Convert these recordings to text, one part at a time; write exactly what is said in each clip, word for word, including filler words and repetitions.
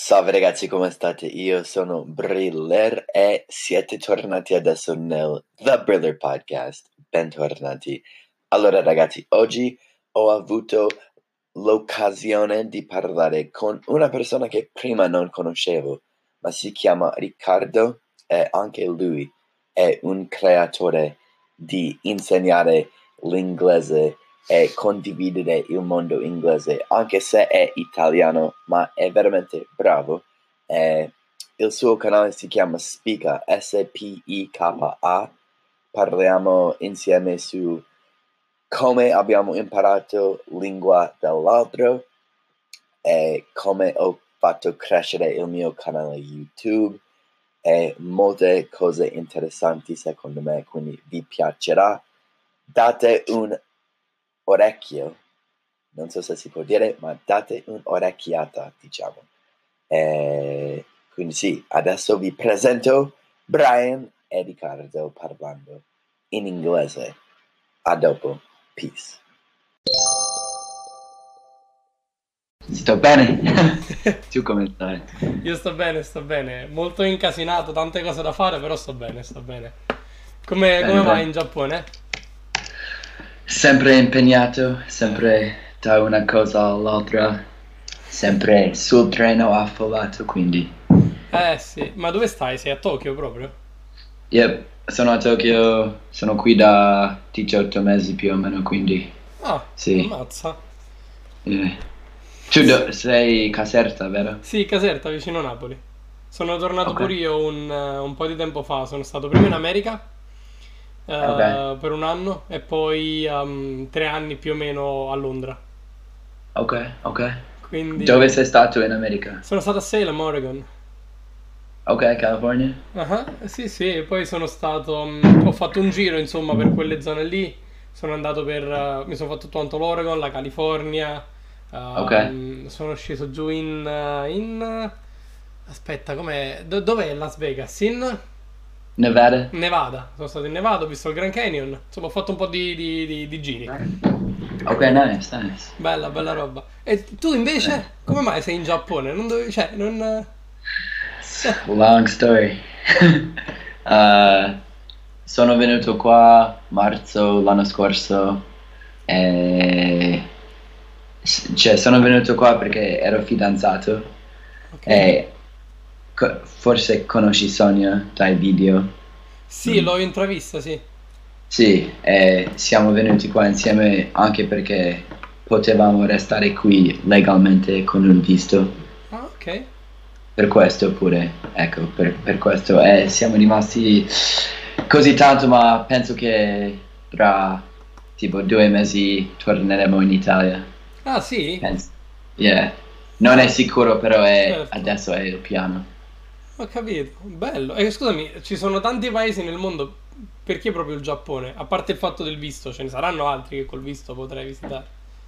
Salve ragazzi, come state? Io sono Briller e siete tornati adesso nel The Briller Podcast. Bentornati. Allora ragazzi, oggi ho avuto l'occasione di parlare con una persona che prima non conoscevo, ma si chiama Riccardo e anche lui è un creatore di insegnare l'inglese e condividere il mondo inglese, anche se è italiano, ma è veramente bravo. Eh, il suo canale si chiama Spika, S P I K A. Parliamo insieme su come abbiamo imparato lingua dell'altro e come ho fatto crescere il mio canale YouTube e molte cose interessanti secondo me, quindi vi piacerà. Date un orecchio, non so se si può dire, ma date un'orecchiata, diciamo. E quindi sì, adesso vi presento Brian e Riccardo parlando in inglese. A dopo, peace. Sto bene? Tu come stai? Io sto bene, sto bene, molto incasinato, tante cose da fare, però sto bene, sto bene. Come, Bene, come vai bene. in Giappone? Sempre impegnato, sempre da una cosa all'altra, sempre sul treno affollato, quindi... Eh sì, ma dove stai? Sei a Tokyo proprio? Yep, sono a Tokyo, sono qui da diciotto mesi più o meno, quindi... Ah, Sì. ammazza. eh. Tu do- sei Caserta, vero? Sì, Caserta, vicino Napoli. Sono tornato Ok. pure io un, eh, un po' di tempo fa, sono stato prima in America eh, Ok. per un anno e poi um, tre anni più o meno a Londra. Ok, ok. Quindi Dove sei stato in America? sono stato a Salem, Oregon. Ok, California? Ah, sì, sì, e poi sono stato, mm, ho fatto un giro insomma per quelle zone lì, sono andato per, eh, mi sono fatto tutto l'Oregon, la California, Ok. ehm, sono sceso giù in, eh, in, eh, aspetta, com'è, do- dov'è Las Vegas? In Nevada? Nevada, sono stato in Nevada, ho visto il Grand Canyon, insomma ho fatto un po' di, di- di- di giri, Ok, nice, nice. bella, bella roba. E tu invece, come mai sei in Giappone? Non dovevi, cioè, non... Long story. Uh, sono venuto qua marzo l'anno scorso e s- cioè sono venuto qua perché ero fidanzato Ok. e co- forse conosci Sonia dai video. Sì, l'ho intravista, sì. Sì, e siamo venuti qua insieme anche perché potevamo restare qui legalmente con un visto. Ah, ok. Per questo pure, ecco, per, per questo e siamo rimasti così tanto, ma penso che tra tipo due mesi torneremo in Italia. Ah, sì? Penso. Yeah. Non è sicuro, però è, Certo. adesso è il piano. Ho capito, bello. E scusami, ci sono tanti paesi nel mondo, perché proprio il Giappone? A parte il fatto del visto, ce ne saranno altri che col visto potrei visitare.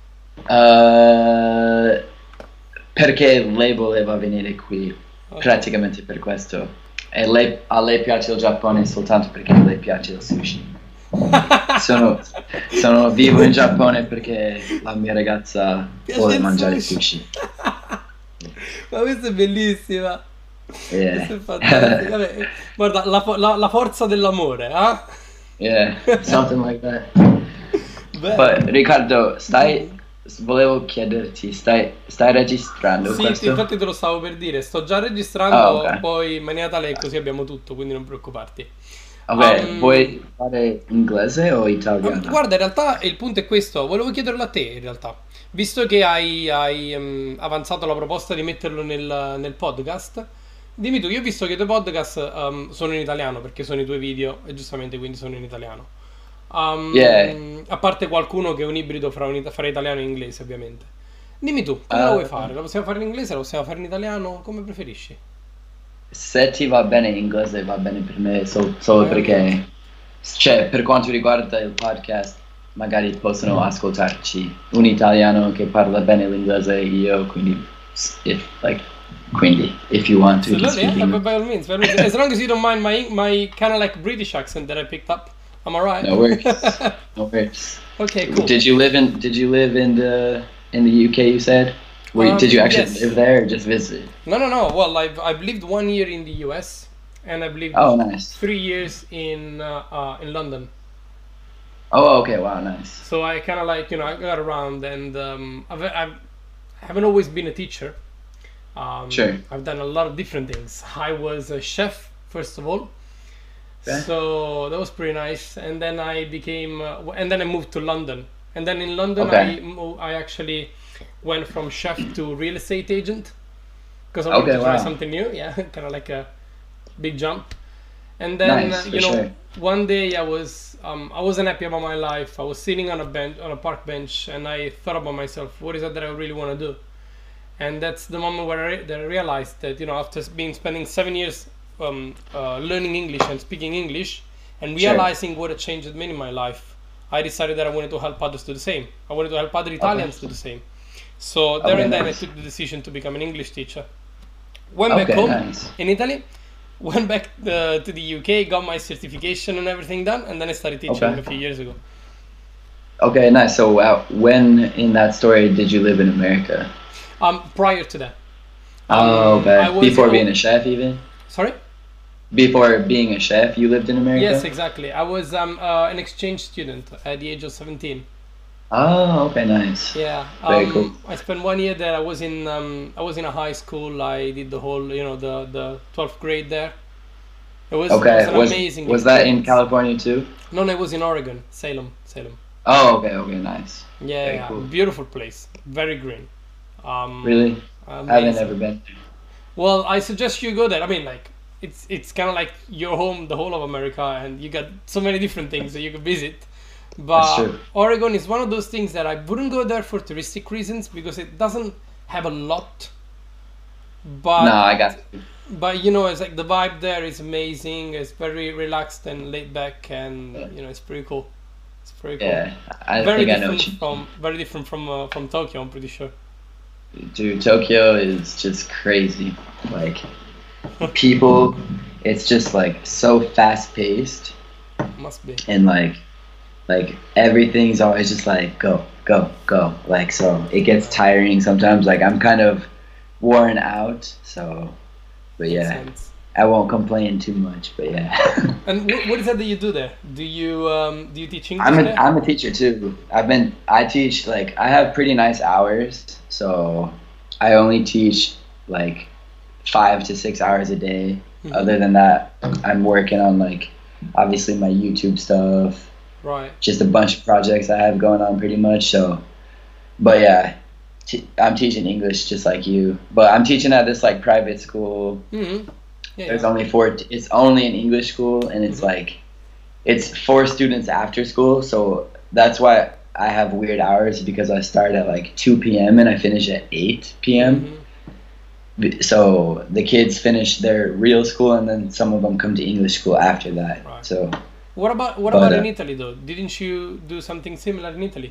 Uh, perché lei voleva venire qui, Ok. praticamente per questo. E lei- a lei piace il Giappone soltanto perché a lei piace il sushi. Sono, sono vivo in Giappone perché la mia ragazza Piace vuole il mangiare sushi. sushi. Ma questa è bellissima. Yeah. Questa è fantastica. Vabbè, guarda, la, fo- la- la forza dell'amore, eh? Yeah, something like that. Bello. Poi, Riccardo, stai, volevo chiederti, stai, stai registrando Sì, questo? infatti te lo stavo per dire, sto già registrando, Ah, ok. poi in maniera tale che così abbiamo tutto, quindi non preoccuparti. Ok, Um, vuoi fare inglese o Ah, italiano? guarda, in realtà il punto è questo, volevo chiederlo a te in realtà, visto che hai, hai, ehm, avanzato la proposta di metterlo nel, nel podcast, dimmi tu, io ho visto che i tuoi podcast ehm, sono in italiano perché sono i tuoi video e giustamente quindi sono in italiano. Um, Yeah. A parte qualcuno che è un ibrido fra, un, it- fra italiano e inglese ovviamente. Dimmi tu, come la Uh, vuoi fare? La possiamo fare in inglese, la possiamo fare in italiano? Come preferisci? Se ti va bene in inglese va bene per me, sol- solo Vai avanti. perché, cioè, per quanto riguarda il podcast, magari possono ascoltarci un italiano che parla bene l'inglese e io, quindi, if, like, quindi, if you want to, we can Absolutely, speak yeah, by, English. by all means, by all means. As long as you don't mind my my kind of like British accent that I picked up, am I right? No worries, no worries. Okay, cool. Did you live in, did you live in the, in the U K, you said? Were you, did Um, you actually yes. live there or just visit? No, no, no. Well, I've I've lived one year in the U S and I've lived Oh, nice. three years in uh, uh, in London. Oh, okay. Wow, nice. So I kind of like, you know, I got around, and um, I've, I've I haven't always been a teacher. Um, Sure. I've done a lot of different things. I was a chef first of all, Okay. so that was pretty nice. And then I became, uh, w- and then I moved to London. And then in London, Okay. I mo- I actually went from chef to real estate agent because I wanted Okay, to try wow. something new. Yeah, kind of like a big jump. And then Nice, uh, for you know, sure. one day I was um, I wasn't happy about my life. I was sitting on a bench on a park bench, and I thought about myself, what is it that I really want to do? And that's the moment where I, re- that I realized that, you know, after s- being spending seven years um, uh, learning English and speaking English, and Sure. realizing what a change had made in my life, I decided that I wanted to help others do the same. I wanted to help other Italians do the same. So there Okay, and then nice. I took the decision to become an English teacher. Went back Okay, home nice. in Italy, went back uh, to the U K, got my certification and everything done, and then I started teaching Okay. a few years ago. Okay, nice. So, uh, when in that story did you live in America? Um, prior to that, Oh, um, okay. I was Before I- being a chef, even sorry. before being a chef, you lived in America. Yes, exactly. I was um, uh, an exchange student at the age of seventeen. Oh, okay, nice. Yeah. Very Um, cool. I spent one year there. I was in um, I was in a high school. I did the whole, you know, the the twelfth grade there. It was, it was Okay, an was amazing was that in experience. California too? No, no, it was in Oregon, Salem, Salem. Oh, okay, okay, nice. Yeah, Very yeah, cool. beautiful place, very green. Um, Really? I haven't amazing. ever been. Well, I suggest you go there. I mean, like, it's it's kind of like your home, the whole of America, and you got so many different things that you can visit. But true. Oregon is one of those things that I wouldn't go there for touristic reasons because it doesn't have a lot. But No, I got. but you know, it's like the vibe there is amazing. It's very relaxed and laid back, and you know, it's pretty cool. It's pretty cool. Yeah, I Very think I know different what you. from very different from uh, from Tokyo. I'm pretty sure. Dude, Tokyo is just crazy. Like, people, it's just like so fast paced, Must be. and like, like everything's always just like go, go, go. Like, so it gets tiring sometimes. Like, I'm kind of worn out. So, but Makes yeah, sense. I won't complain too much. But yeah. And what, what is that that you do there? Do you um do you teach English I'm a there? I'm a teacher too. I've been I teach like I have pretty nice hours, so I only teach like five to six hours a day. Mhm. Other than that, I'm working on like obviously my YouTube stuff, Right. just a bunch of projects I have going on pretty much. So, but yeah, t- I'm teaching English just like you, but I'm teaching at this like private school. Mm-hmm. Yeah. There's yeah. only four. It's only an English school, and it's Mhm. like, it's for students after school. So that's why I have weird hours because I start at like two p.m. and I finish at eight p.m. Mhm. B- So the kids finish their real school, and then some of them come to English school after that. Right. So What about what But, about uh, in Italy though? Didn't you do something similar in Italy?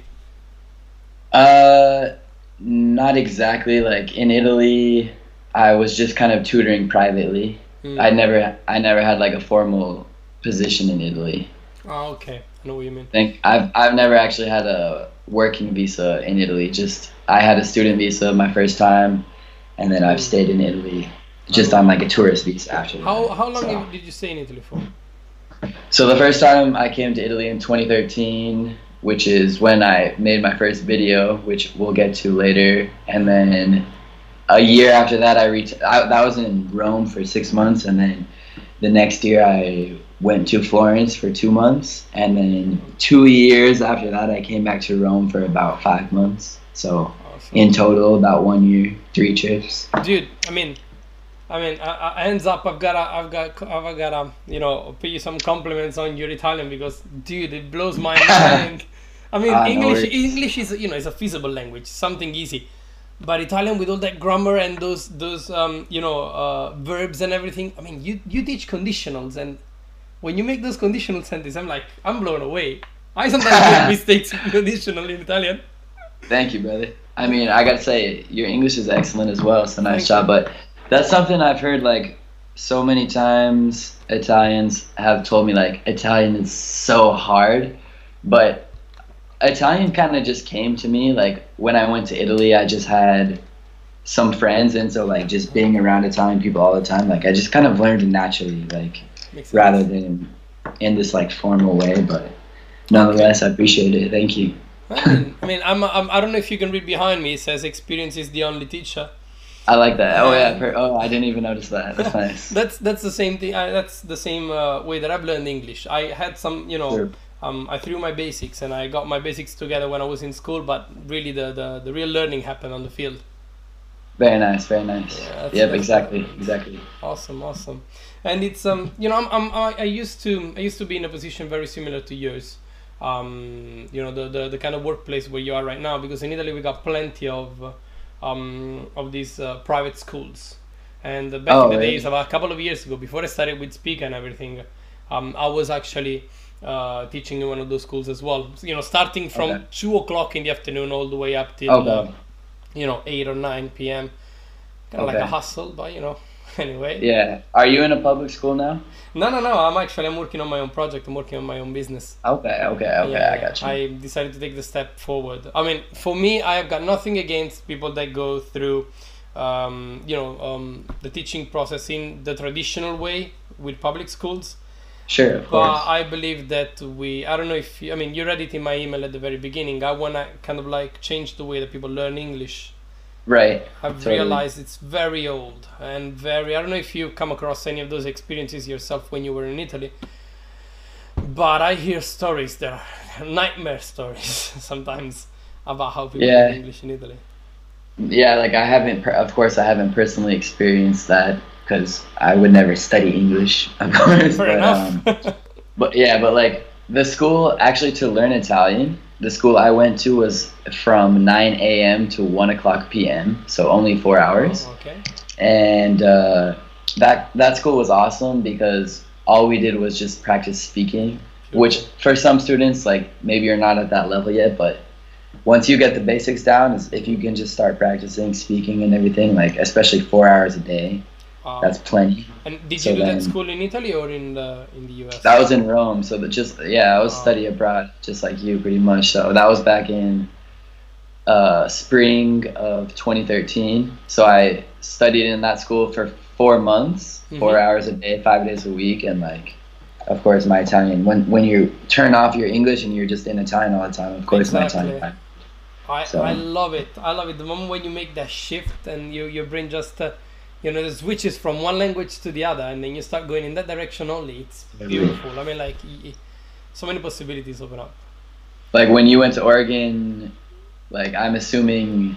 uh, not exactly. Like in Italy, I was just kind of tutoring privately. Mm. I never, I never had like a formal position in Italy. Oh, okay. I know what you mean. think I've I've never actually had a working visa in Italy. Just I had a student visa my first time, and then I've stayed in Italy just on like a tourist visa after that. How how long So, did you stay in Italy for? so the first time I came to Italy in twenty thirteen, which is when I made my first video, which we'll get to later, and then a year after that I reached. I, that was in Rome for six months, and then the next year I went to Florence for two months, and then two years after that I came back to Rome for about five months. So Awesome. in total, about one year, three trips. Dude, I mean, I mean, I, I, hands up, I've gotta, I've got, I've gotta, you know, pay you some compliments on your Italian because, dude, it blows my mind. I mean, Ah, no English, worries. English is, you know, is a feasible language, something easy, but Italian with all that grammar and those, those, um, you know, uh, verbs and everything. I mean, you, you teach conditionals, and when you make those conditional sentences, I'm like, I'm blown away. I sometimes make mistakes in conditional in Italian. Thank you, brother. I mean, I gotta say, your English is excellent as well. So nice Thank job. But that's something I've heard like so many times. Italians have told me like Italian is so hard, but Italian kind of just came to me. Like when I went to Italy, I just had some friends, and so like just being around Italian people all the time, like I just kind of learned naturally, like Makes sense. rather than in this like formal way. But nonetheless, I appreciate it. Thank you. I mean, I mean, I'm, I'm, I don't know if you can read behind me. It says experience is the only teacher. I like that. Oh yeah. Per- oh, I didn't even notice that. That's nice. That's that's the same thing. I, that's the same uh, way that I've learned English. I had some, you know, Sure. um, I threw my basics and I got my basics together when I was in school. But really, the the, the real learning happened on the field. Very nice. Very nice. Yeah, that's- yep. that's- Exactly. Exactly. Awesome, awesome. And it's um, you know, I'm, I'm I, I used to I used to be in a position very similar to yours. Um, you know, the, the the kind of workplace where you are right now, because in Italy we got plenty of uh, um of these uh, private schools. And uh, back Oh, in the really? days, about a couple of years ago, before I started with Speak and everything, um, I was actually uh, teaching in one of those schools as well. So, you know, starting from Okay. two o'clock in the afternoon all the way up till Okay. uh, you know eight or nine p m. Kind of like Okay. a hustle, but you know, anyway. Yeah. Are you in a public school now? No, no, no. I'm actually I'm working on my own project. I'm working on my own business. Okay. Okay. Okay. Yeah, I got you. I decided to take the step forward. I mean, for me, I have got nothing against people that go through, um, you know, um, the teaching process in the traditional way with public schools. Sure. Of But course. I believe that we, I don't know if, you, I mean, you read it in my email at the very beginning. I want to kind of like change the way that people learn English. Right. I've Totally. realized it's very old and very, I don't know if you come across any of those experiences yourself when you were in Italy, but I hear stories that are nightmare stories sometimes about how people Yeah. learn English in Italy. Yeah, like I haven't, per- of course, I haven't personally experienced that because I would never study English, of course. Fair but, enough. Um, but yeah, but like the school actually to learn Italian, the school I went to was from nine a m to one o'clock p m, so only four hours. Oh, okay. And uh, that that school was awesome because all we did was just practice speaking, which for some students, like maybe you're not at that level yet, but once you get the basics down, is if you can just start practicing speaking and everything, like especially four hours a day, Um, that's plenty. and did so you do then- that school in Italy or in the in the U S? That was in Rome, so that just yeah, I was Oh. study abroad, just like you, pretty much. So that was back in uh, spring of twenty thirteen. So I studied in that school for four months, four Mhm. hours a day, five days a week, and like, of course, my Italian. When when you turn off your English and you're just in Italian all the time, of course, my Exactly. Italian. I, So- I love it. I love it. The moment when you make that shift and you, your brain just, uh, you know, it switches from one language to the other and then you start going in that direction only. It's beautiful. I mean, like, y- y- so many possibilities open up. Like when you went to Oregon, like I'm assuming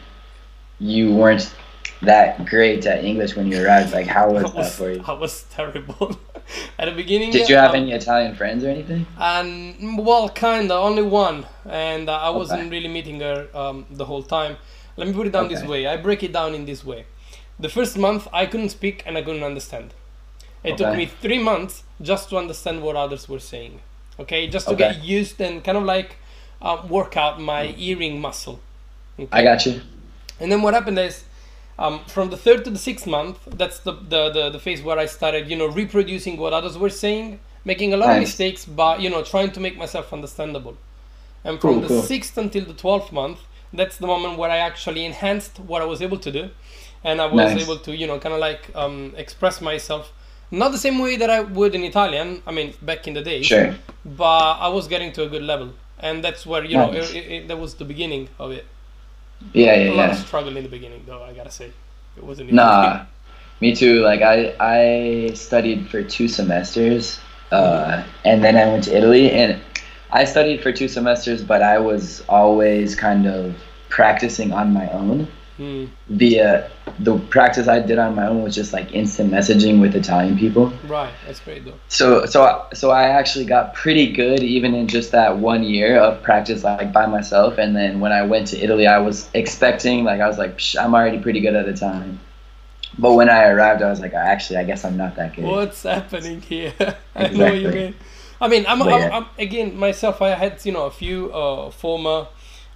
you weren't that great at English when you arrived. Like how was I that was, for you? I was terrible. At the beginning. Did you have um, any Italian friends or anything? And well, kinda, only one, and uh, I wasn't Okay. really meeting her um, the whole time. Let me put it down this Okay. way. I break it down in this way. The first month, I couldn't speak and I couldn't understand. It took Okay. me three months just to understand what others were saying. Okay, just to Okay. get used and kind of like uh, work out my hearing muscle. Okay? I got you. And then what happened is, um, from the third to the sixth month, that's the, the, the, the phase where I started, you know, reproducing what others were saying, making a lot of Nice. mistakes, but, you know, trying to make myself understandable. And from Cool, the cool. sixth until the twelfth month, that's the moment where I actually enhanced what I was able to do. And I was Nice. able to, you know, kind of like um, express myself, not the same way that I would in Italian, I mean, back in the days, Sure. but I was getting to a good level. And that's where, you know, Nice. it, it, it, that was the beginning of it. Yeah, A yeah, lot of yeah. struggle in the beginning, though, I gotta say. It wasn't easy. Nah, me too. Like I, I studied for two semesters, uh, and then I went to Italy, and I studied for two semesters, but I was always kind of practicing on my own. Hmm. Via the practice I did on my own was just like instant messaging with Italian people. Right, that's great though. So, so, I- so I actually got pretty good even in just that one year of practice, like by myself. And then when I went to Italy, I was expecting, like, I was like, Psh, I'm already pretty good at the time. But when I arrived, I was like, actually, I guess I'm not that good. What's happening here? I know what you Exactly. mean. I mean, I'm, But I'm, yeah. I'm again myself. I had you know a few uh, former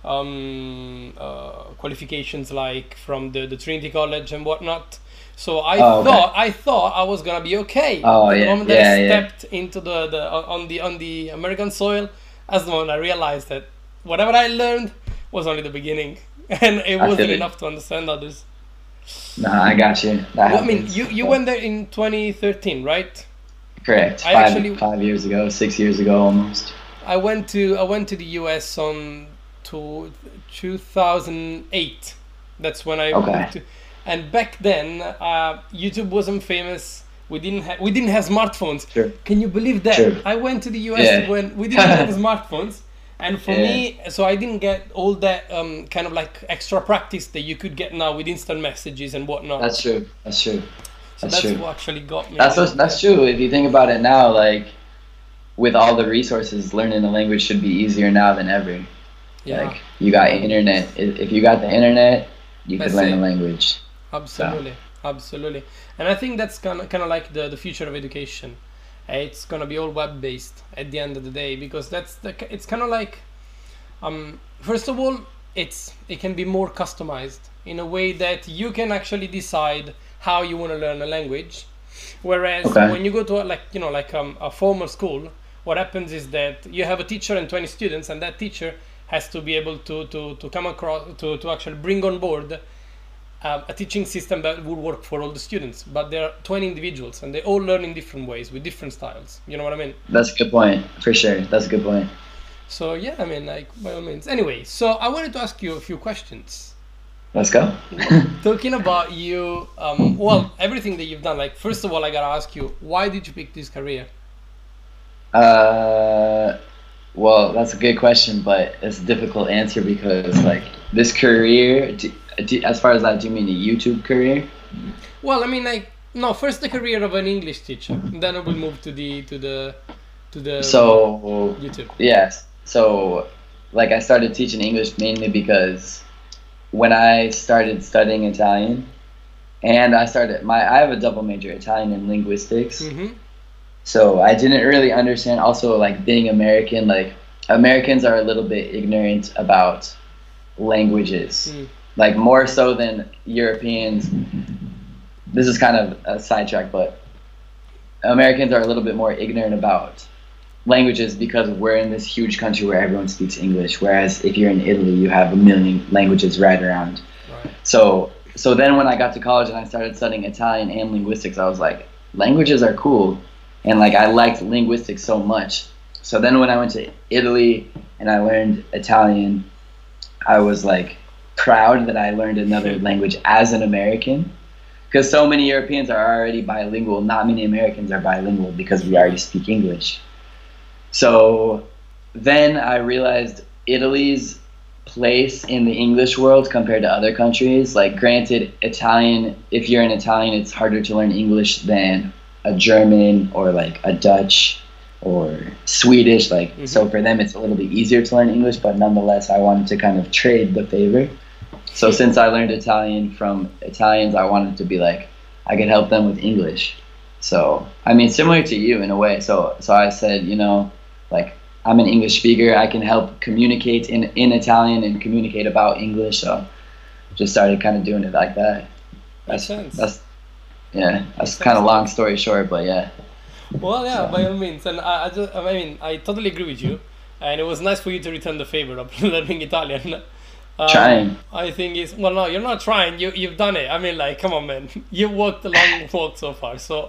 um, uh, qualifications like from the, the Trinity College and whatnot. So I Oh, okay. thought I thought I was gonna be okay. Oh, the yeah, moment that I yeah, yeah. stepped into the, the on the on the American soil, that's the moment I realized that whatever I learned was only the beginning, and it I wasn't feel it. enough to understand others. Nah, I got you. That Well, I mean, happens. you you But went there in twenty thirteen, right? correct. I Five actually five years ago, six years ago almost. I went to I went to the U S on to two thousand eight. That's when I Okay. moved to, and back then uh, YouTube wasn't famous. We didn't have we didn't have smartphones. Sure. Can you believe that? Sure. I went to the U S Yeah. when we didn't have smartphones, and for Yeah. me, so I didn't get all that um, kind of like extra practice that you could get now with instant messages and whatnot. That's true. That's true. so That's that's true. what actually got me. That's what, that's true. If you think about it now, like with all the resources, learning a language should be easier now than ever. Yeah, Like you got internet. If if you got the internet, you could That's learn it. a language. absolutely, absolutely. And I think that's kind of kind of like the the future of education. Uh, It's gonna be all web based at the end of the day because that's the ki- it's kind of like um first of all it's it can be more customized in a way that you can actually decide how you want to learn a language, whereas Okay. when you go to a, like you know like um, a formal school, what happens is that you have a teacher and twenty students, and that teacher has to be able to to, to come across to, to actually bring on board um, a teaching system that would work for all the students. But there are twenty individuals and they all learn in different ways with different styles, you know what I mean? That's a good point for sure. That's a good point. So yeah, I mean, like, by all means. Anyway, so I wanted to ask you a few questions. Let's go. Talking about you, um, well, everything that you've done. Like, first of all, I gotta ask you, why did you pick this career? Uh, well, that's a good question, but it's a difficult answer because like this career, do, do, as far as that, do you mean a YouTube career? Well, I mean, like, no, first the career of an English teacher, then I will move to the to the to the So YouTube. yes, so like I started teaching English mainly because when I started studying Italian, and I started my I have a double major, Italian and linguistics. Mm-hmm. So I didn't really understand also like being American, like Americans are a little bit ignorant about languages. Mm. Like more so than Europeans. This is kind of a sidetrack, but Americans are a little bit more ignorant about languages because we're in this huge country where everyone speaks English, whereas if you're in Italy, you have a million languages right around. Right. So so then when I got to college and I started studying Italian and linguistics, I was like, languages are cool. And like I liked linguistics so much. So then when I went to Italy and I learned Italian, I was like proud that I learned another language as an American. Because so many Europeans are already bilingual, not many Americans are bilingual because we already speak English. So then I realized Italy's place in the English world compared to other countries. Like granted, Italian, if you're an Italian, it's harder to learn English than a German or like a Dutch or Swedish. Like Mm-hmm. so for them it's a little bit easier to learn English, but nonetheless I wanted to kind of trade the favor. So since I learned Italian from Italians, I wanted to be like I could help them with English. So I mean similar to you in a way. So so I said, you know, like I'm an English speaker, I can help communicate in, in Italian and communicate about English. So just started kind of doing it like that. Makes That's sense. that's yeah, that's Makes kind of sense. long story short, but yeah. Well, yeah, So- by all means, and I, I, just, I mean, I totally agree with you, and it was nice for you to return the favor of learning Italian. Um, Trying. I think it's well, no, you're not trying. You you've done it. I mean, like, come on, man, you walked a long walk so far, so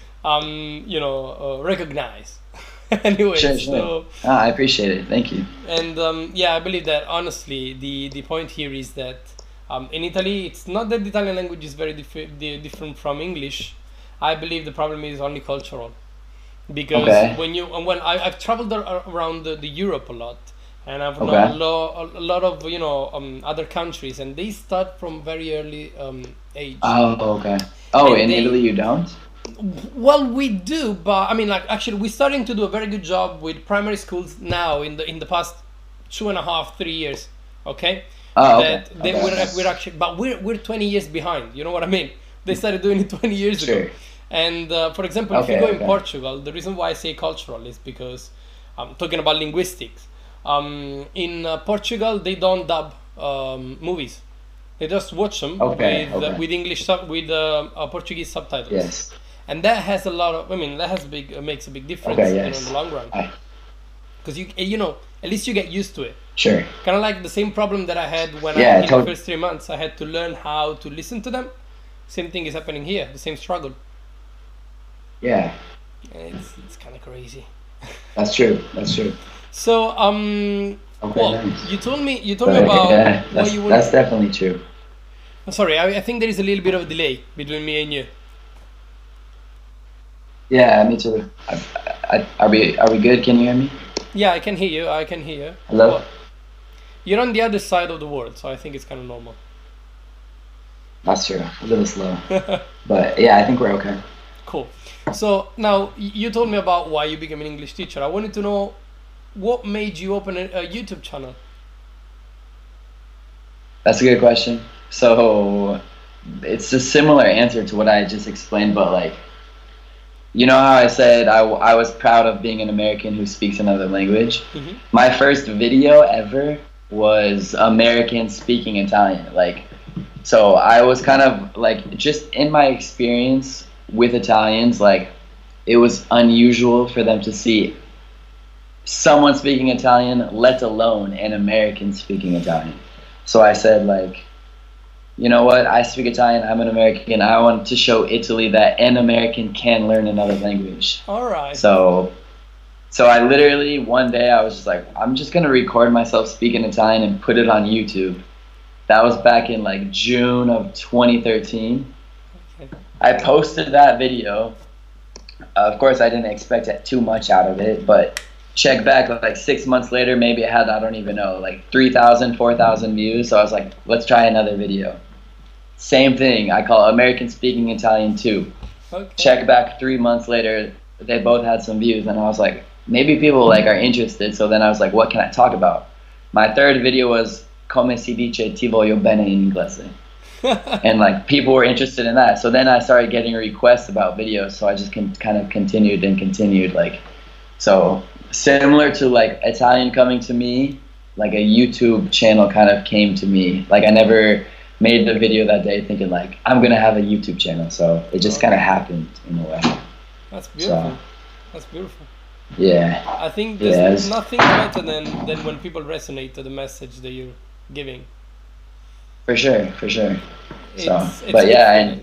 um, you know, uh, recognize. Anyway, Sure, so sure. Ah, I appreciate it. Thank you. and um, yeah, I believe that honestly, the the point here is that um, in Italy, it's not that the Italian language is very dif- di- different from English. I believe the problem is only cultural, because Okay. when you and when I, I've traveled ar- around the, the Europe a lot, and I've Okay. known a, lo- a lot of you know um, other countries, and they start from very early um, age. Oh, okay. Oh, And in they- Italy you don't? Well, we do, but I mean, like, actually, we're starting to do a very good job with primary schools now in the in the past two and a half, three years. Okay, Oh, okay. that they, okay. we're we're actually, but we're we're twenty years behind. You know what I mean? They started doing it twenty years ago. Sure. And uh, for example, if Okay, you go in okay. Portugal, the reason why I say cultural is because I'm talking about linguistics. Um, in uh, Portugal, they don't dub um, movies; they just watch them Okay, with uh, okay. with English sub- with uh, uh, Portuguese subtitles. Yes. And that has a lot of. I mean, that has big uh, makes a big difference Okay, you know, yes. in the long run. I- Because you you know at least you get used to it. Sure. Kind of like the same problem that I had when Yeah, I in tot- the first three months I had to learn how to listen to them same thing is happening here, the same struggle. Yeah, It's it's kind of crazy. that's true. That's true. So um, Okay, well, nice. you told me you told me But, about yeah, what that's, you were. that's definitely true. Sorry, I, I think there is a little bit of delay between me and you. Yeah, me too. I, I, are we are we good? Can you hear me? Yeah, I can hear you. I can hear you. Hello? Well, you're on the other side of the world, so I think it's kind of normal. That's true. A little slow. But yeah, I think we're okay. Cool. So now y- you told me about why you became an English teacher. I wanted to know what made you open a, a YouTube channel. That's a good question. So it's a similar answer to what I just explained, but like, you know how I said I, w- I was proud of being an American who speaks another language? Mhm. My first video ever was American speaking Italian. Like, so I was kind of like, just in my experience with Italians, like, it was unusual for them to see someone speaking Italian, let alone an American speaking Italian. So I said, like, you know what, I speak Italian, I'm an American, I want to show Italy that an American can learn another language. All right. So, so I literally, one day I was just like, I'm just gonna record myself speaking Italian and put it on YouTube. That was back in like June of twenty thirteen. Okay. I posted that video. Of course, I didn't expect it too much out of it, but check back like six months later, maybe it had, I don't even know, like three thousand, four thousand views. So I was like, let's try another video. Same thing, I call American Speaking Italian two. Okay. Check back three months later, they both had some views, and I was like, maybe people like are interested. So then I was like, what can I talk about? My third video was Come si dice ti voglio bene in inglese. And like people were interested in that. So then I started getting requests about videos. So I just can, kind of continued and continued. Like, so similar to like Italian coming to me, like a YouTube channel kind of came to me. Like I never made the video that day thinking like I'm gonna have a YouTube channel. So it just kind of happened in a way. That's beautiful. So, That's beautiful. yeah. I think there's Yes. nothing better than, than when people resonate to the message that you're giving. For sure, for sure. So, It's, it's but good yeah, feeling. and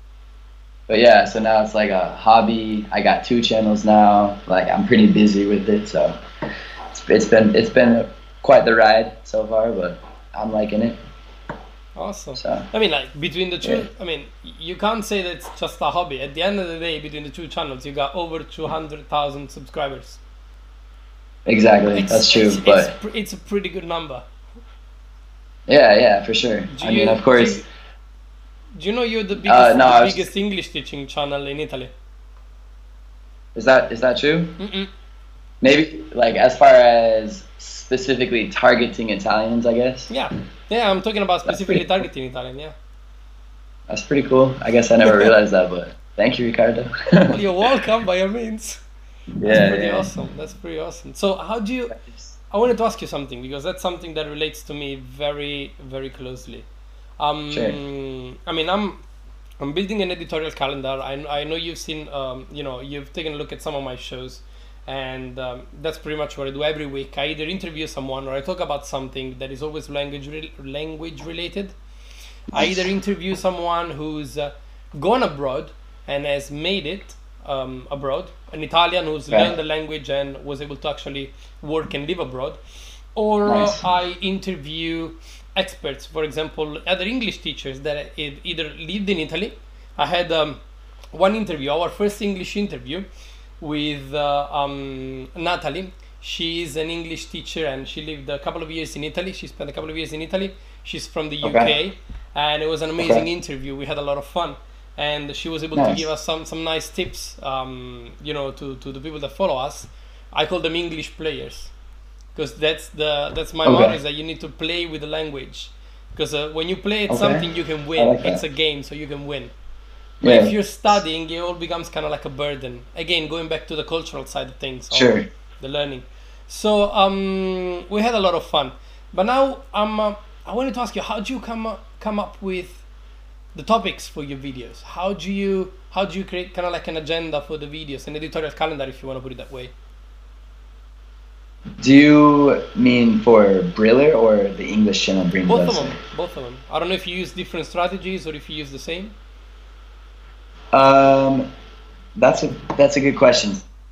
but yeah, so now it's like a hobby. I got two channels now. Like I'm pretty busy with it, so it's, it's been it's been quite the ride so far, but I'm liking it. Awesome. So I mean, like between the two, Yeah. I mean, you can't say that it's just a hobby. At the end of the day, between the two channels, you got over two hundred thousand subscribers. exactly, It's, that's true. It's, But it's, pr- it's a pretty good number. yeah, yeah, for sure. Do I you- mean, of course. Do you, do you know you're the biggest, no, I the was- biggest English teaching channel in Italy? Is that is that true? Mm-mm. Maybe like as far as specifically targeting Italians, I guess. Yeah, yeah. I'm talking about That's specifically pretty cool. targeting Italian. Yeah. That's pretty cool. I guess I never realized that, but thank you, Ricardo. Well, you're welcome by all means. That's yeah, pretty yeah. awesome. That's pretty awesome. So, how do you? I wanted to ask you something because that's something that relates to me very, very closely. Um, Sure. I mean, I'm, I'm building an editorial calendar. I, I know you've seen, um, you know, you've taken a look at some of my shows, and um, that's pretty much what I do every week. I either interview someone or I talk about something that is always language re- language related. I either interview someone who's uh, gone abroad and has made it um, abroad, an Italian who's Right. learned the language and was able to actually work and live abroad, or Nice. uh, I interview experts, for example, other English teachers that e- either lived in Italy. I had um, one interview, our first English interview with uh, um, Natalie. She is an English teacher and she lived a couple of years in Italy. She spent a couple of years in Italy. She's from the U K, Okay. and it was an amazing Okay. interview. We had a lot of fun, and she was able to Nice. give us some some nice tips. Um, you know, to, to the people that follow us. I call them English players, because that's the that's my Okay. motto, is that you need to play with the language. Because uh, when you play at Okay. something, you can win. I like that. It's a game, so you can win. But Yeah. if you're studying, it all becomes kind of like a burden. Again, going back to the cultural side of things, or Sure. the learning. So um, we had a lot of fun. But now um, uh, I wanted to ask you, how do you come up, come up with the topics for your videos? How do you how do you create kind of like an agenda for the videos, an editorial calendar, if you want to put it that way? Do you mean for Briller or the English channel Brain Both of Blessing? them, both of them. I don't know if you use different strategies or if you use the same. Um, that's a that's a good question.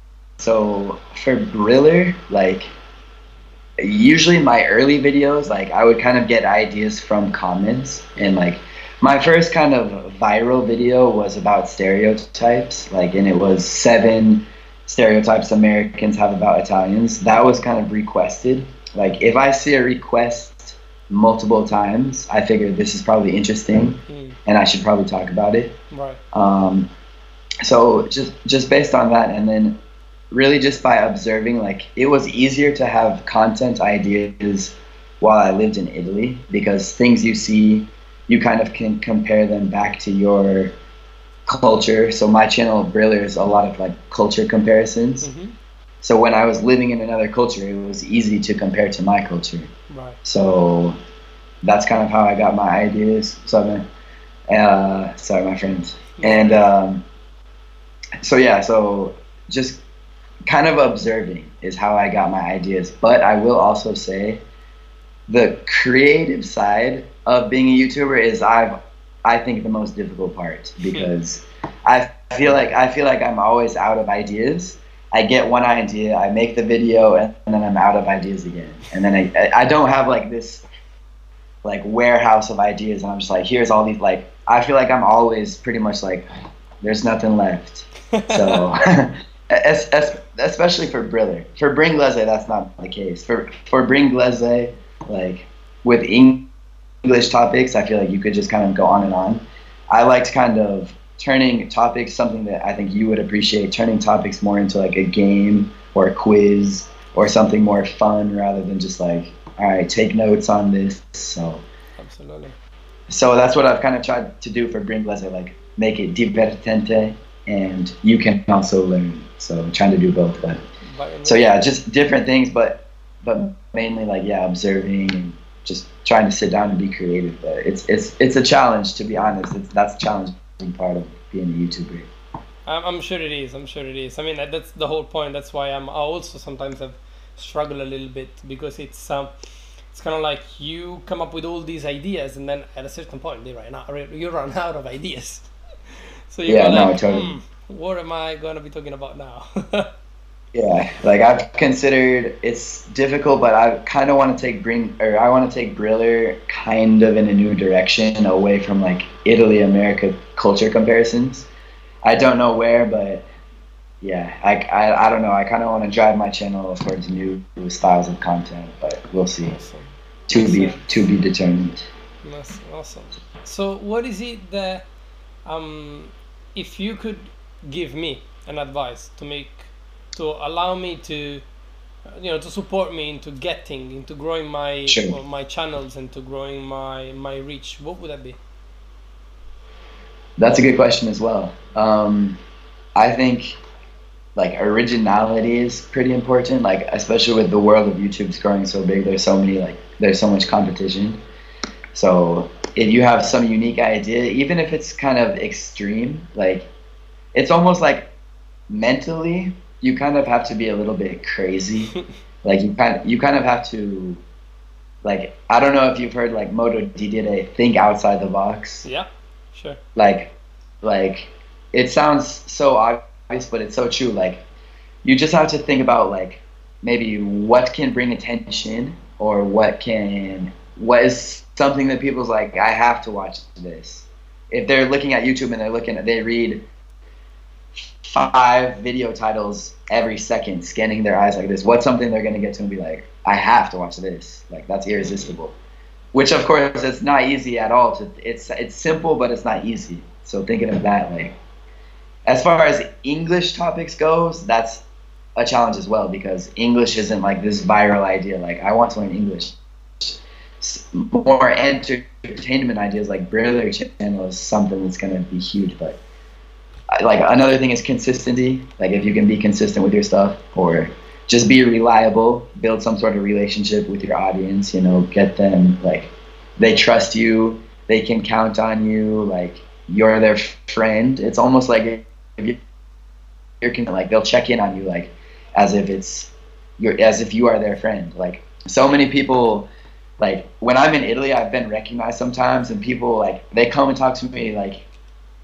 So for Briller, like usually my early videos, like I would kind of get ideas from comments, and like my first kind of viral video was about stereotypes, like, and it was seven stereotypes Americans have about Italians. That was kind of requested. Like if I see a request multiple times, I figure this is probably interesting mm. and I should probably talk about it. Right. Um, so just just based on that, and then really just by observing, like it was easier to have content ideas while I lived in Italy, because things you see, you kind of can compare them back to your culture. So my channel Briller is a lot of like culture comparisons. Mm-hmm. So when I was living in another culture, it was easy to compare to my culture. Right. So that's kind of how I got my ideas. So, uh, sorry, my friends. Yeah. And um, so yeah, so just kind of observing is how I got my ideas. But I will also say the creative side of being a YouTuber is I've I think the most difficult part, because I feel like I feel like I'm always out of ideas. I get one idea, I make the video, and, and then I'm out of ideas again. And then I I don't have like this like warehouse of ideas, and I'm just like, here's all these, like I feel like I'm always pretty much like there's nothing left. So as, as, especially for Briller. For Bringlese, that's not the case. For for Bringlese, like with English topics, I feel like you could just kind of go on and on. I liked kind of turning topics, something that I think you would appreciate, turning topics more into like a game or a quiz or something more fun, rather than just like, all right, take notes on this. So absolutely. So that's what I've kind of tried to do for Bringlese, like make it divertente, and you can also learn. So I'm trying to do both. But so yeah, just different things, but but mainly like yeah, observing and just trying to sit down and be creative. But it's it's it's a challenge, to be honest. It's that's a challenging part of being a YouTuber. I'm I'm sure it is. I'm sure it is. I mean, that's the whole point. That's why I'm I also sometimes have struggled a little bit, because it's um it's kind of like you come up with all these ideas, and then at a certain point they run out. You run out of ideas. So you yeah, go no, like, totally. hmm, what am I going to be talking about now? Yeah, like I've considered, it's difficult, but I kind of want to take bring or I want to take Briller kind of in a new direction, away from like Italy America culture comparisons. I don't know where, but yeah, I I, I don't know. I kind of want to drive my channel towards new styles of content, but we'll see. Awesome. To Makes be sense. to be determined. That's awesome. So what is it that um if you could give me an advice to make to allow me to you know to support me into getting into growing my Sure. well, my channels and to growing my my reach, what would that be? That's a good question as well. Um, I think like originality is pretty important, like especially with the world of YouTube's growing so big. There's so many like there's so much competition. So if you have some unique idea, even if it's kind of extreme, like it's almost like mentally you kind of have to be a little bit crazy. Like you kind of, you kind of have to, like, I don't know if you've heard like Moto D did a think outside the box. Yeah, sure. Like, like it sounds so obvious, but it's so true. Like you just have to think about like maybe what can bring attention, or what can, what is something that people's like, I have to watch this. If they're looking at YouTube and they're looking at, they read five video titles every second, scanning their eyes like this, what's something they're going to get to and be like, I have to watch this. Like that's irresistible. Which of course it's not easy at all. To it's it's simple, but it's not easy. So thinking of that, like as far as English topics goes, that's a challenge as well, because English isn't like this viral idea. Like I want to learn English. More entertainment ideas like Briller channel is something that's going to be huge. But like another thing is consistency. Like if you can be consistent with your stuff, or just be reliable, build some sort of relationship with your audience, you know, get them like they trust you, they can count on you, like you're their friend. It's almost like if you're like they'll check in on you like as if it's you're as if you are their friend. Like so many people, like when I'm in Italy, I've been recognized sometimes, and people like they come and talk to me like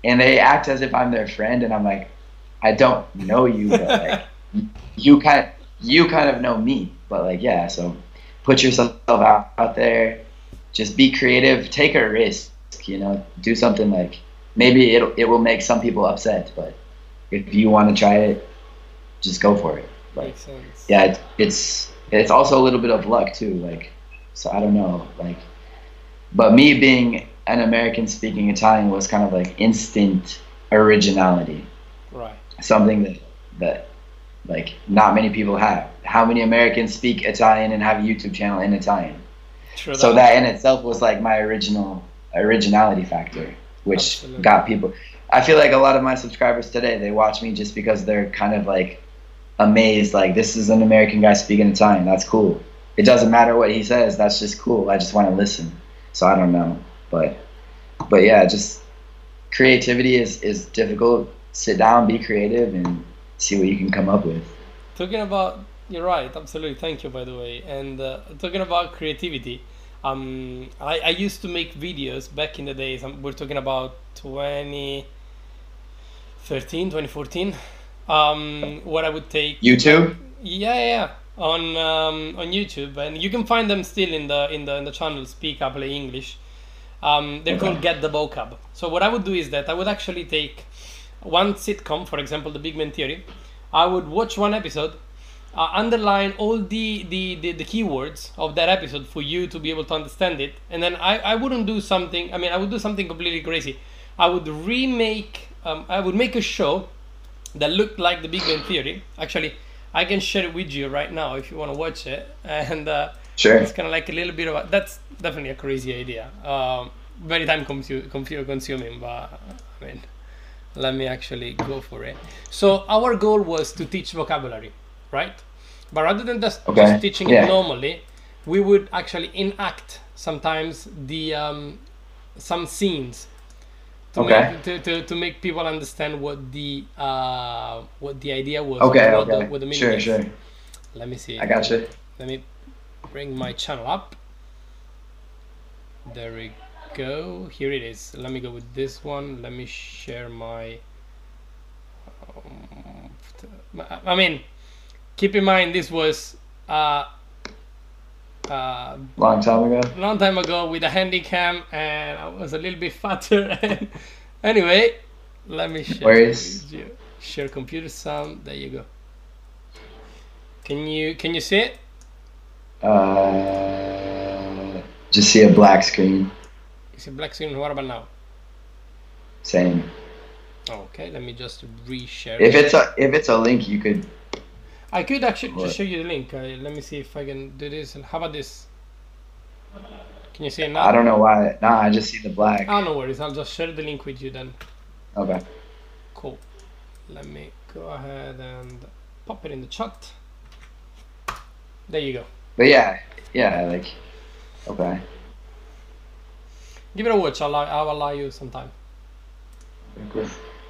and they act as if I'm their friend, and I'm like, I don't know you, but like you kind you kind of know me, but like yeah. So put yourself out, out there, just be creative, take a risk, you know, do something like maybe it it will make some people upset, but if you want to try it, just go for it. Like Makes sense. yeah, it, it's it's also a little bit of luck too, like so I don't know, like but me being an American speaking Italian was kind of like instant originality. Right. Something that that like not many people have. How many Americans speak Italian and have a YouTube channel in Italian? True So that in itself was like my original originality factor, which Absolutely. got people. I feel like a lot of my subscribers today, they watch me just because they're kind of like amazed, like this is an American guy speaking Italian. That's cool. It doesn't matter what he says. That's just cool. I just want to listen. So I don't know, but but yeah, just creativity is is difficult. Sit down, be creative, and see what you can come up with. Talking about, you're right, absolutely. Thank you, by the way. And uh, talking about creativity, um, I, I used to make videos back in the days. Um, we're talking about twenty thirteen, twenty fourteen, um, where I would take YouTube? yeah, yeah, yeah, on um, on YouTube, and you can find them still in the in the in the channel Speak Up Play English. Um, they're Okay. called Get the Vocab. So what I would do is that I would actually take one sitcom, for example, The Big Bang Theory. I would watch one episode, uh, underline all the, the, the, the keywords of that episode for you to be able to understand it, and then I, I wouldn't do something, I mean, I would do something completely crazy. I would remake, um, I would make a show that looked like The Big Bang Theory. Actually, I can share it with you right now if you want to watch it, and uh, Sure. it's kind of like a little bit of a, that's definitely a crazy idea. Um, very time consu- confu- consuming, but I mean, let me actually go for it. So our goal was to teach vocabulary, right? But rather than just, Okay. just teaching Yeah. it normally, we would actually enact sometimes the um, some scenes to, Okay. make, to, to, to make people understand what the uh, what the idea was. Okay, what okay. The, what the meaning Sure, is. sure. Let me see. I got you. Let me bring my channel up. There we go. Here it is. Let me go with this one. Let me share my. Um, I mean, keep in mind this was uh, uh, Long time ago. a long time ago with a handycam, and I was a little bit fatter. And anyway, let me share. Where is- with you. Share computer sound. There you go. Can you can you see it? Uh, just see a black screen. You see black screen. What about now? Same. Okay, let me just reshare. If it. it's a if it's a link, you could. I could actually What? just show you the link. Uh, let me see if I can do this. How about this? Can you see it now? I don't know why. Nah, I just see the black. Ah, no worries. I'll just share the link with you then. Okay. Cool. Let me go ahead and pop it in the chat. There you go. But yeah, yeah, like. Okay. Give it a watch. I'll, allow- I'll allow you some time. Cool.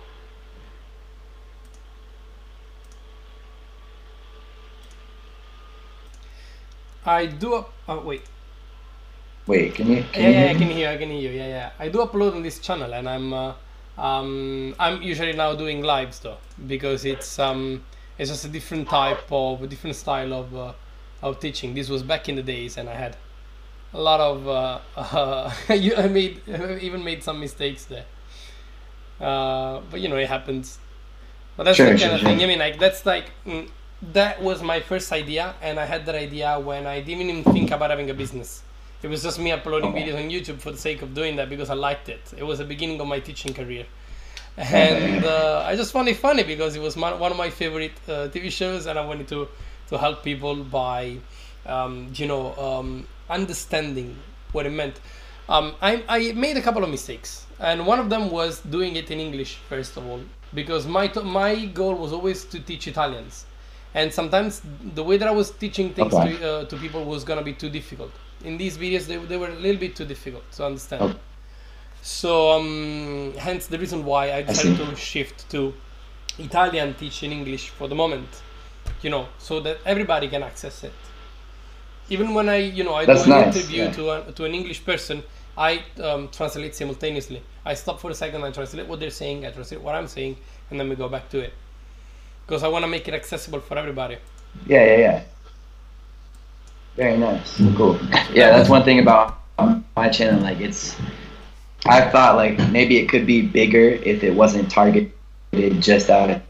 I do. Up, oh wait. Wait, can you? Can Yeah, you yeah, hear I me? can hear. I can hear you. Yeah, yeah. I do upload on this channel, and I'm. Uh, um, I'm usually now doing lives though, because it's um, it's just a different type of, a different style of, uh, of teaching. This was back in the days, and I had a lot of. Uh, uh, you, I made, I even made some mistakes there. Uh, but you know, it happens. But that's Sure, the kind sure, of sure. thing. I mean, like that's like mm, that was my first idea, and I had that idea when I didn't even think about having a business. It was just me uploading Okay. videos on YouTube for the sake of doing that because I liked it. It was the beginning of my teaching career, and uh, I just found it funny because it was my, one of my favorite uh, T V shows, and I wanted to to help people by, um, you know, um, understanding what it meant. Um, I, I made a couple of mistakes, and one of them was doing it in English first of all, because my t- my goal was always to teach Italians, and sometimes the way that I was teaching things Okay. to uh, to people was gonna be too difficult. In these videos, they, they were a little bit too difficult to understand. Okay. So um, hence the reason why I decided to shift to Italian teaching English for the moment, you know, so that everybody can access it. Even when I, you know, I That's do an nice, interview yeah. to a, to an English person, I um, translate simultaneously. I stop for a second, I translate what they're saying, I translate what I'm saying, and then we go back to it. Because I want to make it accessible for everybody. Yeah, yeah, yeah. Very nice. Cool. Yeah, that's one thing about my channel. Like, it's, I thought like maybe it could be bigger if it wasn't targeted just out of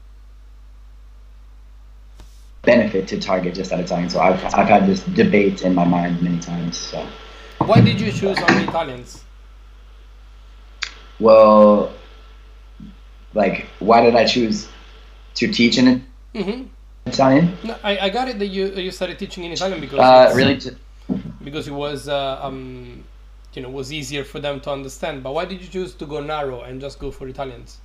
benefit to target just at a time. So I've I've had this debate in my mind many times. So why did you choose only Italians? Well, like, why did I choose to teach in Mm-hmm. Italian? No, I, I got it that you you started teaching in Italian because Uh, it's, really, t- because it was uh, um you know was easier for them to understand. But why did you choose to go narrow and just go for Italians?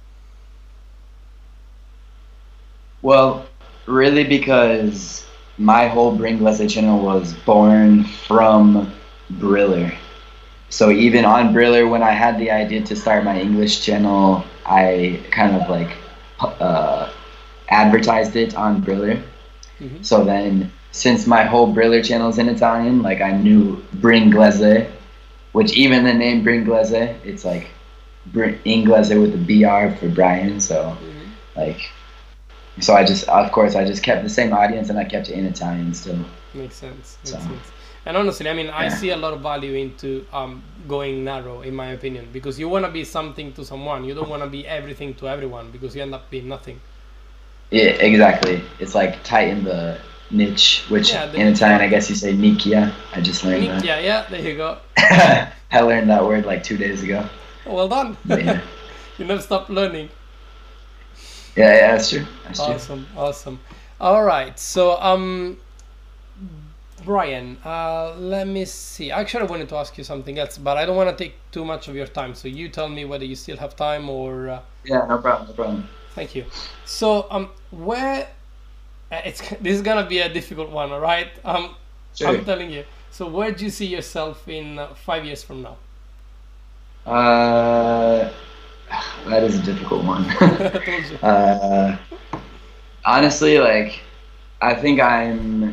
well, really because my whole Bringlese channel was born from Briller. So even on Briller, when I had the idea to start my English channel, I kind of like uh, advertised it on Briller. Mm-hmm. So then, since my whole Briller channel is in Italian, like I knew Bringlese, which even the name Bringlese, it's like Br- Inglese with the B R for Brian. So Mm-hmm. like, so I just, of course, I just kept the same audience and I kept it in Italian still. Makes sense. Makes So. sense. And honestly, I mean, I Yeah. see a lot of value into um, going narrow, in my opinion, because you want to be something to someone. You don't want to be everything to everyone because you end up being nothing. Yeah, exactly. It's like tighten the niche, which Yeah, the in Italian, niche. I guess you say nicchia. I just learned that. Yeah, yeah, there you go. I learned that word like two days ago. Well done. But yeah. You never stop learning. Yeah, yeah, that's true. That's true. Awesome, awesome. All right, so um, Brian, uh, let me see. Actually, I wanted to ask you something else, but I don't want to take too much of your time. So you tell me whether you still have time or. Uh, Yeah, no problem, no problem. Thank you. So um, where uh, it's this is gonna be a difficult one, all right? Um, Sure. I'm telling you. So where do you see yourself in uh, five years from now? Uh, that is a difficult one. I told you. uh, honestly, like, I think I'm.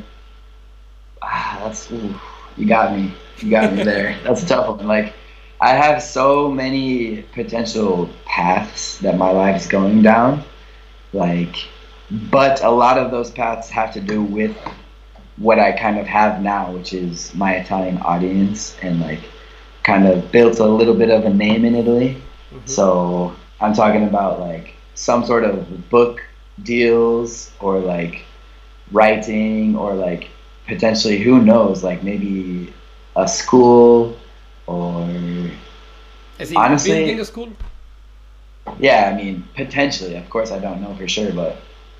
Ah, that's ooh, you got me. You got me there. That's a tough one. Like, I have so many potential paths that my life is going down. Like, but a lot of those paths have to do with what I kind of have now, which is my Italian audience, and like kind of built a little bit of a name in Italy. Mhm. So I'm talking about like some sort of book deals or like writing or like potentially, who knows, like maybe a school or Is he honestly- building a school? yeah, I mean, potentially. Of course, I don't know for sure, but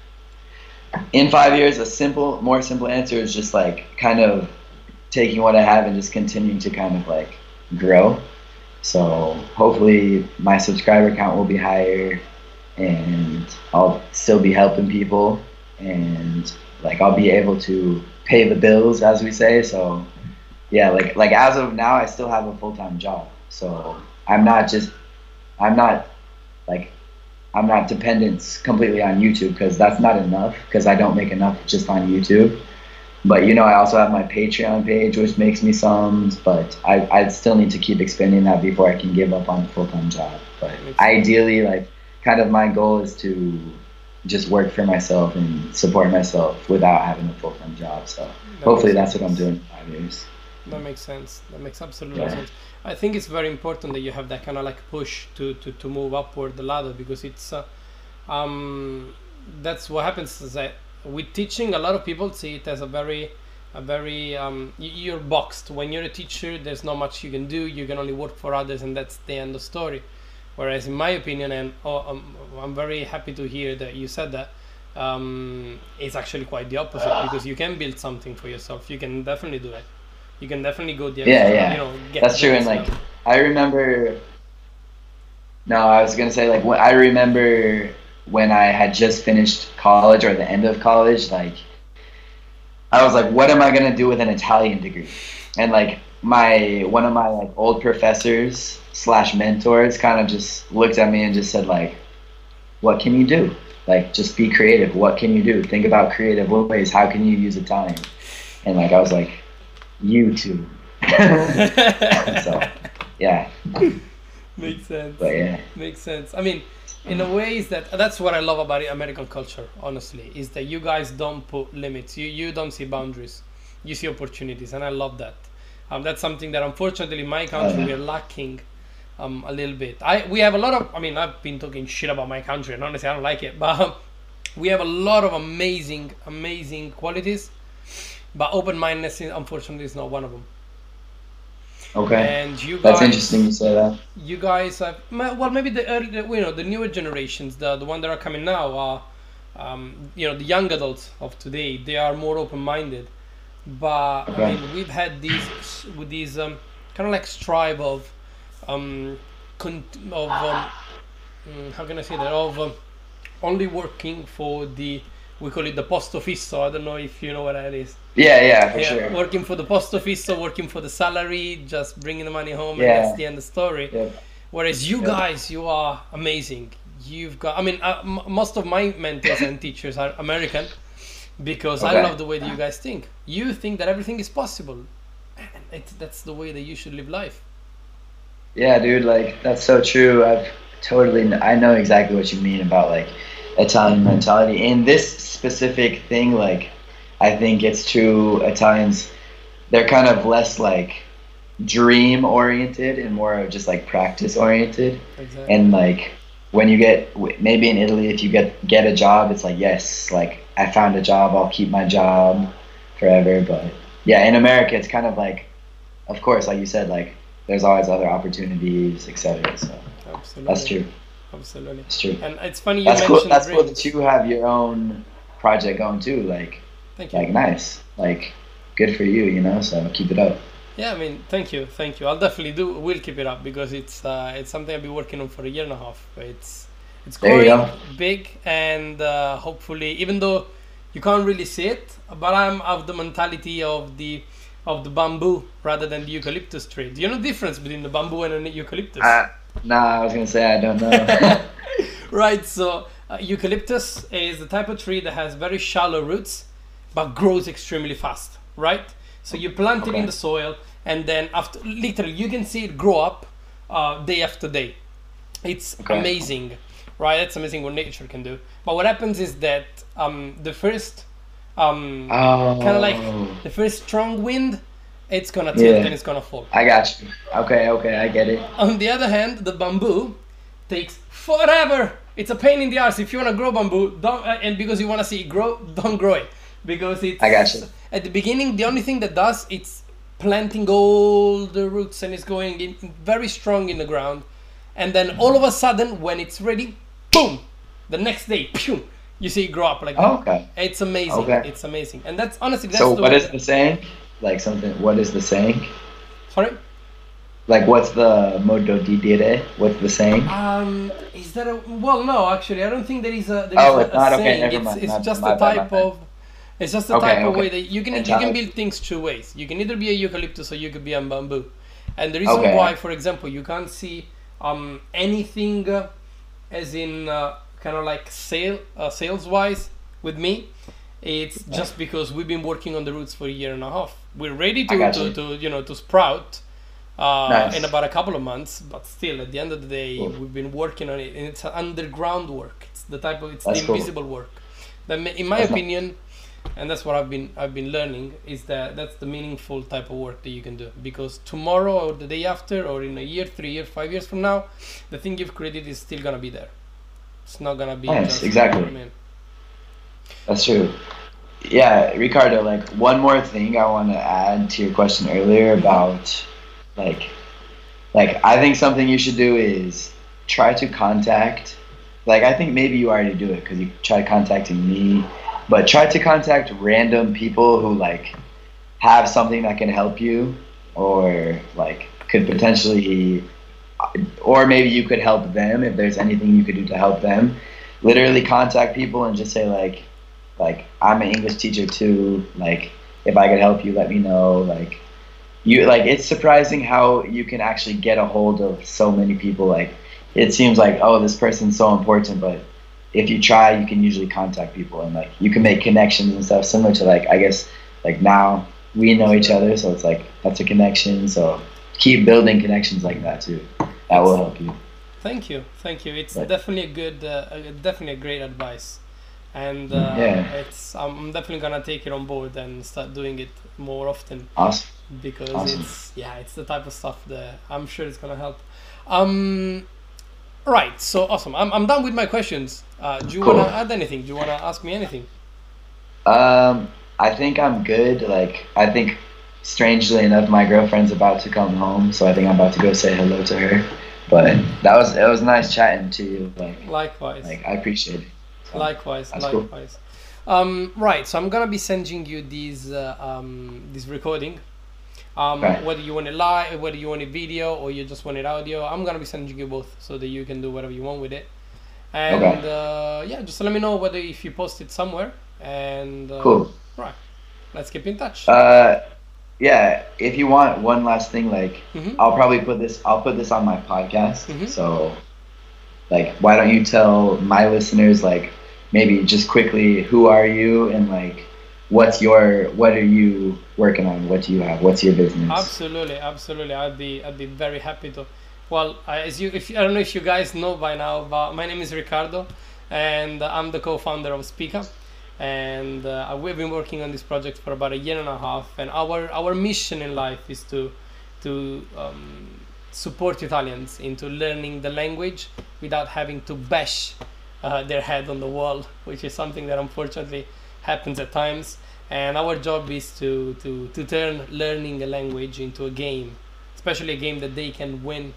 in five years, a simple, more simple answer is just like kind of taking what I have and just continuing to kind of like grow. So hopefully my subscriber count will be higher and I'll still be helping people and like I'll be able to pay the bills, as we say. So yeah, like like as of now, I still have a full-time job. So I'm not just, I'm not like, I'm not dependent completely on YouTube because that's not enough because I don't make enough just on YouTube. But, you know, I also have my Patreon page, which makes me sums, but I, I still need to keep expanding that before I can give up on the full-time job. But ideally, like, kind of my goal is to just work for myself and support myself without having a full-time job. So That hopefully makes that's what I'm sense. doing in five years. That makes sense. That makes absolutely Yeah. sense. I think it's very important that you have that kind of like push to, to, to move upward the ladder because it's uh, um that's what happens is that with teaching, a lot of people see it as a very a very um y- you're boxed. When you're a teacher, there's not much you can do. You can only work for others, and that's the end of story. Whereas in my opinion, and oh, um, I'm very happy to hear that you said that, um, it's actually quite the opposite because you can build something for yourself. You can definitely do it. You can definitely go the Yeah, extra, yeah. you know, get That's the true. And next like, level. I remember, no, I was going to say, like, when, I remember when I had just finished college or the end of college, like, I was like, what am I going to do with an Italian degree? And like, my, one of my like old professors slash mentors kind of just looked at me and just said like, what can you do? Like, just be creative. What can you do? Think about creative ways. How can you use Italian? And like, I was like, YouTube. So yeah. Makes sense. But yeah. Makes sense. I mean, in a way, is that that's what I love about American culture. Honestly, is that you guys don't put limits. You you don't see boundaries. You see opportunities, and I love that. Um, that's something that unfortunately in my country Oh, we are lacking um, a little bit. I we have a lot of. I mean, I've been talking shit about my country, and honestly, I don't like it. But we have a lot of amazing, amazing qualities. But open-mindedness, is- unfortunately, is not one of them. okay. And you That's guys, interesting you say that. you guys have ma- well, maybe the early, the- you know, the newer generations, the the one that are coming now, are, um, you know, the young adults of today. They are more open-minded. But I Okay. mean, we've had these with these um, kind of like strive of um, con- of um, mm, how can I say that of um, only working for the, we call it the posto fisso. I don't know if you know what that is. Yeah, yeah, for Yeah, sure. working for the posto fisso, working for the salary, just bringing the money home, and Yeah. that's the end of the story. Yeah. Whereas you Yeah. guys, you are amazing. You've got, I mean, uh, m- most of my mentors and teachers are American because I Okay. love the way that you guys think. You think that everything is possible. And it's, that's the way that you should live life. Yeah, dude, like that's so true. I've totally, I know exactly what you mean about like Italian mentality. In this specific thing, like I think it's true. Italians, they're kind of less like dream oriented and more of just like practice oriented. Exactly. And like when you get w- maybe in Italy, if you get get a job, it's like yes, like I found a job, I'll keep my job forever. But yeah, in America, it's kind of like, of course, like you said, like there's always other opportunities, et cetera. So Absolutely. that's true. Absolutely. That's true. And it's funny you That's cool. mentioned That's cool dreams. that you have your own project going too. Like, Thank you. like nice. Like, good for you. You know. So keep it up. Yeah, I mean, thank you, thank you. I'll definitely do. Will keep it up because it's uh, it's something I've been working on for a year and a half. It's it's There you growing go. big, and uh, hopefully, even though you can't really see it, but I'm of the mentality of the of the bamboo rather than the eucalyptus tree. Do you know the difference between the bamboo and an eucalyptus? Uh, nah, I was gonna say I don't know. Right. So uh, eucalyptus is the type of tree that has very shallow roots, but grows extremely fast. Right. So you plant it in Okay. the soil, and then after, literally, you can see it grow up uh, day after day. It's Okay. amazing, right? That's amazing what nature can do. But what happens is that um, the first, um, Oh, kind of like the first strong wind, it's gonna tilt Yeah. and it's gonna fall. I got you. Okay, okay, I get it. On the other hand, the bamboo takes forever. It's a pain in the ass. If you want to grow bamboo, don't, uh, and because you want to see it grow, don't grow it. Because it's, I got you. at the beginning, the only thing that does, it's planting all the roots and it's going in very strong in the ground. And then all of a sudden, when it's ready, boom, the next day, pew, you see it grow up like that. Oh, okay. It's amazing. Okay. It's amazing. And that's honestly, that's So the what way is the saying? Like something. What is the saying? Sorry? Like what's the modo di dire? What's the saying? Um, is that a well? No, actually, I don't think there is a. There is Oh, a, it's not? a Okay, saying. never it's mind. it's Not- just my a bad, my type bad. of. It's just a Okay, type of okay. way that you can you can Mentality. build things two ways. You can either be a eucalyptus or you could be a bamboo, and the reason Okay. why, for example, you can't see um anything, uh, as in uh, kind of like sale uh, sales wise with me, it's just because we've been working on the roots for a year and a half. We're ready I to got to, you. to you know to sprout. Uh, Nice. in about a couple of months, but still, at the end of the day, Cool. we've been working on it, and it's an underground work. It's the type of it's That's the cool. invisible work. That, ma- in my That's not- opinion, and that's what I've been I've been learning is that that's the meaningful type of work that you can do. Because tomorrow or the day after, or in a year, three years, five years from now, the thing you've created is still gonna be there. It's not gonna be Nice, just, exactly. I mean, That's true. Yeah, Ricardo, like one more thing I want to add to your question earlier about like like I think something you should do is try to contact like I think maybe you already do it because you tried contacting me, but try to contact random people who like have something that can help you or like could potentially or maybe you could help them if there's anything you could do to help them. Literally contact people and just say like like I'm an English teacher too, like if I could help you let me know. Like you like it's surprising how you can actually get a hold of so many people. Like it seems like oh this person's so important, but if you try you can usually contact people and like you can make connections and stuff similar to like I guess like now we know each other, so it's like that's a connection. So keep building connections like that too. That will help you. Thank you, thank you. It's But definitely a good, uh, a- definitely a great advice, and uh, yeah, it's I'm definitely gonna take it on board and start doing it more often awesome, because awesome. it's yeah, it's the type of stuff that I'm sure it's gonna help. Um, right, so awesome. I'm I'm done with my questions. Uh, do you Cool. wanna add anything? Do you wanna ask me anything? Um, I think I'm good. Like, I think, strangely enough, my girlfriend's about to come home, so I think I'm about to go say hello to her. But that was it was nice chatting to you. Like, Likewise. like I appreciate it. So, Likewise, that's cool. likewise. Um, right, so I'm gonna be sending you these uh, um, this recording. Um, Right. Whether you want it live, whether you want it video, or you just want it audio, I'm gonna be sending you both so that you can do whatever you want with it. And Okay. uh, yeah, just let me know whether if you post it somewhere. And uh, Cool. right, let's keep in touch. Uh, yeah. If you want one last thing, like, hmm I'll probably put this. I'll put this on my podcast. Mhm. So, like, why don't you tell my listeners, like, maybe just quickly, who are you and like, what's your, what are you working on? What do you have? What's your business? Absolutely, absolutely. I'd be I'd be very happy to. Well, I- as you, if I don't know if you guys know by now, but my name is Ricardo, and I'm the co-founder of Speaka, and uh, we've been working on this project for about a year and a half. And our our mission in life is to to um, support Italians into learning the language without having to bash uh, their head on the wall, which is something that unfortunately happens at times. And our job is to, to, to turn learning a language into a game, especially a game that they can win.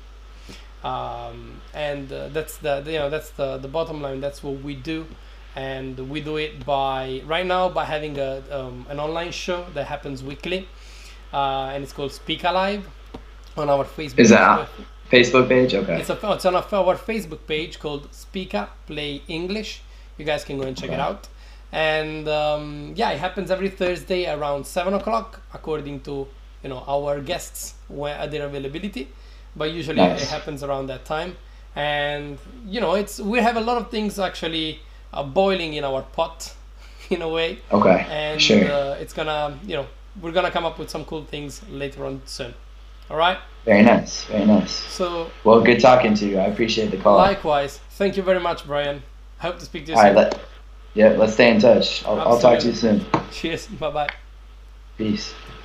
Um, and uh, that's the you know that's the, the bottom line. That's what we do, and we do it by right now by having a um, an online show that happens weekly, uh, and it's called Speak Alive on our Facebook. Is that Facebook page? Okay. It's, a, it's on our, our Facebook page called Speaka Play English. You guys can go and check it Okay. out. And um, yeah, it happens every Thursday around seven o'clock, according to you know our guests where their availability. But usually Nice. it happens around that time. And you know, it's we have a lot of things actually uh, boiling in our pot, in a way. Okay. And Sure. uh, it's gonna you know we're gonna come up with some cool things later on soon. All right. Very nice. Very nice. So Well, good talking to you. I appreciate the call. likewise, thank you very much, Brian. I hope to speak to you All right. soon. Let, yeah. Let's stay in touch. I'll, I'll talk to you soon. Cheers. Bye bye. Peace.